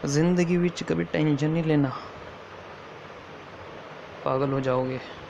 ज़िंदगी विच कभी टेंशन नहीं लेना, पागल हो जाओगे।